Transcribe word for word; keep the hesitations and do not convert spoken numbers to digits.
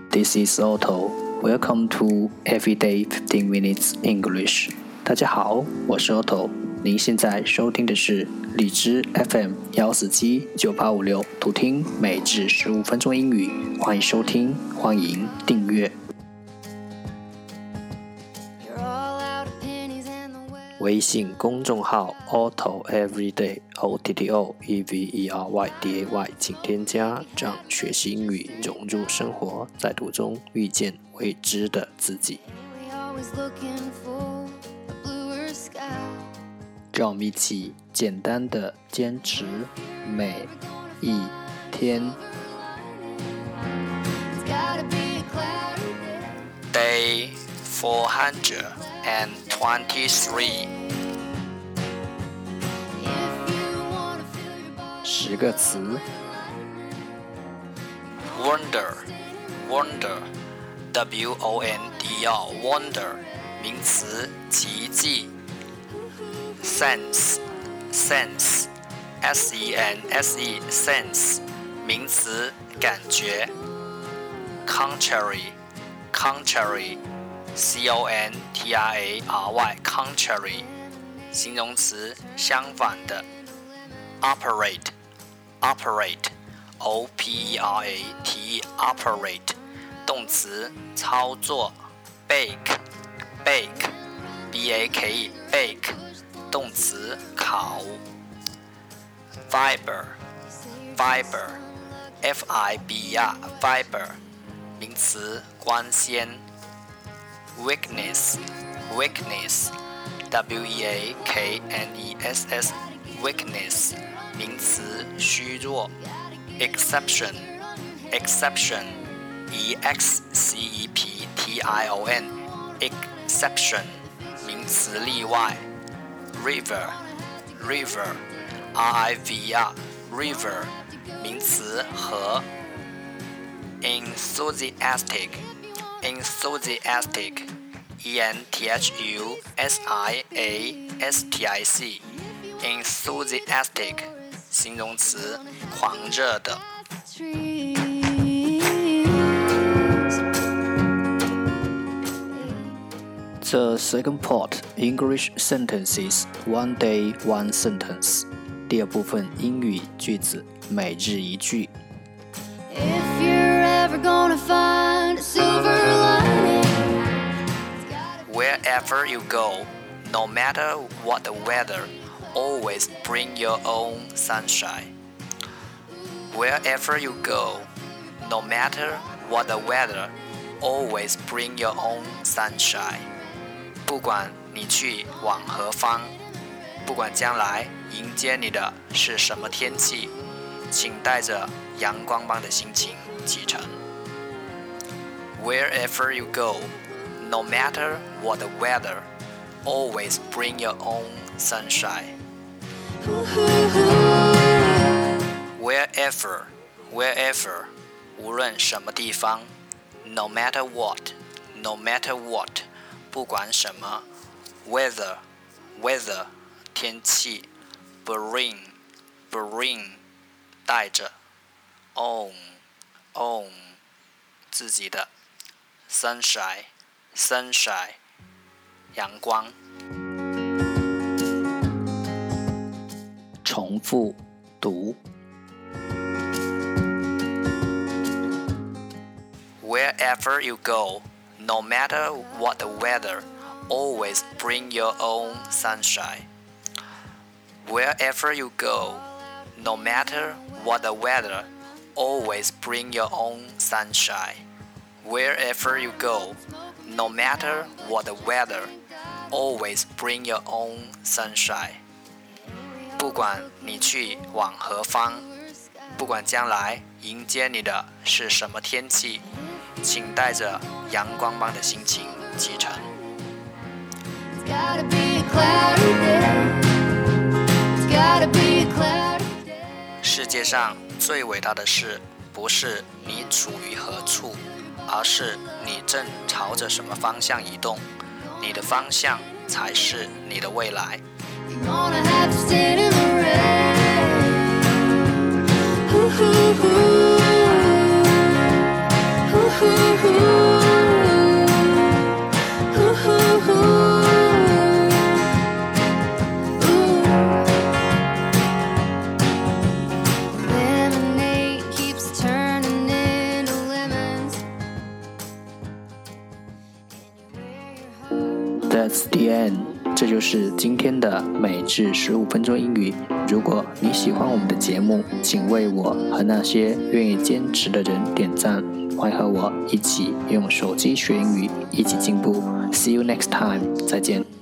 This is Otto. Welcome to Everyday fifteen Minutes English. 大家好，我是 Otto。您现在收听的是荔枝 F M 一四七九八五六，图听每日十五分钟英语。欢迎收听，欢迎订阅。微信公众号 Otto Everyday O T T O E V E R Y D A Y 请添加，让学习英语融入生活，在途中遇见未知的自己。让我们一起简单的坚持每一天。Day four hundred twenty-three 十个词 Wonder Wonder W O N D R Wonder 名词奇迹 Sense Sense S E N S E Sense 名词感觉 Contrary Contrary C O N T R A R Y Contrary 形容词相反的 Operate Operate O P E R A T E Operate 动词操作 Bake Bake B A K E Bake 动词烤 Fiber Fiber F I B E R Fiber 名词光纤 Weakness Weakness W E A K N E S S Weakness 名词虚弱 Exception Exception E X C E P T I O N Exception 名词例外 River River R I V E R River 名词河 Enthusiastic Enthusiastic E N T H U S I A S T I C Enthusiastic 形容词狂热的 The second part English sentences One day one sentence 第二部分英语句子每日一句 If you're ever gonna find a silver lining Wherever you go, no matter what the weather, always bring your own sunshine. Wherever you go, no matter what the weather, always bring your own sunshine. 不管你去往何方，不管将来迎接你的是什么天气，请带着阳光般的心情启程。Wherever you go,No matter what the weather, always bring your own sunshine. Wherever, wherever, 无论什么地方 No matter what, no matter what, 不管什么 Weather, weather, 天气 Bring, bring, 带着 Own, own, 自己的 Sunshine,Sunshine 阳光重复读 Wherever you go, no matter what the weather, always bring your own sunshine. Wherever you go, no matter what the weather, always bring your own sunshine.Wherever you go, no matter what the weather, always bring your own sunshine. 不管你去往何方，不管将来迎接你的是什么天气，请带着阳光般的心情启程。世界上最伟大的事，不是你处于何处，而是你正朝着什么方向移动，你的方向才是你的未来。Ooh, ooh, ooh. Ooh, ooh, ooh. That's the end， 这就是今天的每日十五分钟英语。如果你喜欢我们的节目，请为我和那些愿意坚持的人点赞。欢迎和我一起用手机学英语，一起进步。See you next time， 再见。